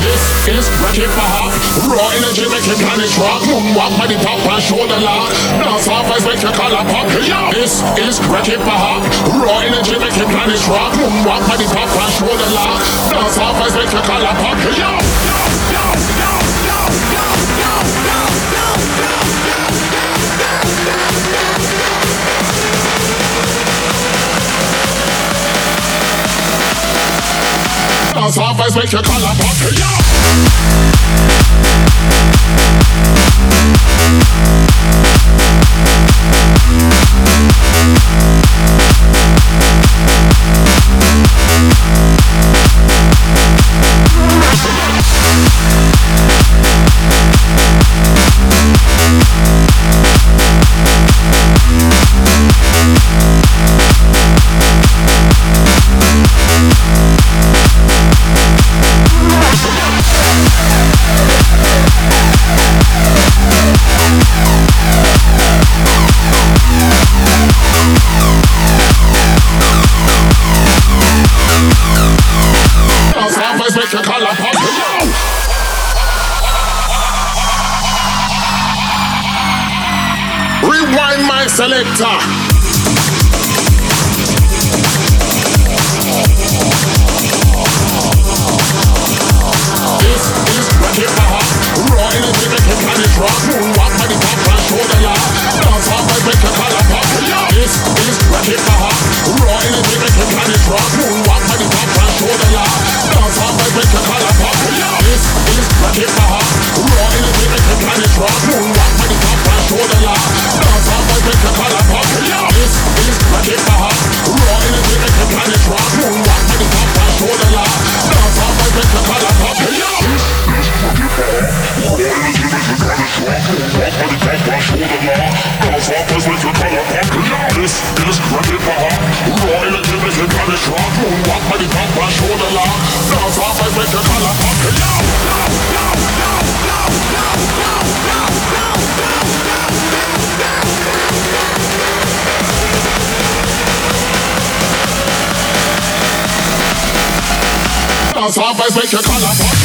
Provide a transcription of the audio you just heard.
This is Wreck It for Hop. Raw energy make you panic rock. Moonwalk by the top and shoulder lock. Dance off as make you collar pop. This is Wreck It for Hop. Raw energy make you panic rock. Moonwalk by the top and shoulder lock. Dance off as make you collar pop. Dance off as make you collar pop. Make your collar pop. Rewind my selector. This is Wreck It for Hop. Raw energy make you panic rock. Moonwalk by the top and shoulder lock. Dance off as make your collar pop. This is Wreck It for Hop. Raw energy make you panic rock. Moonwalk by the top and shoulder lock. Dance off as make your collar pop. This is Wreck It for Hop. Raw energy make you panic rock. Moonwalk by the top and shoulder lock. Dance off as make your collar pop. This is Wreck It for Hop. Raw energy make you panic rock. Moonwalk by the top and shoulder lock. Dance off as make your collar pop. This is Wreck It for Hop. Raw energy make you panic rock. Moonwalk by the top and shoulder lock. Dance off as make your collar pop. Dance off as make your collar pop.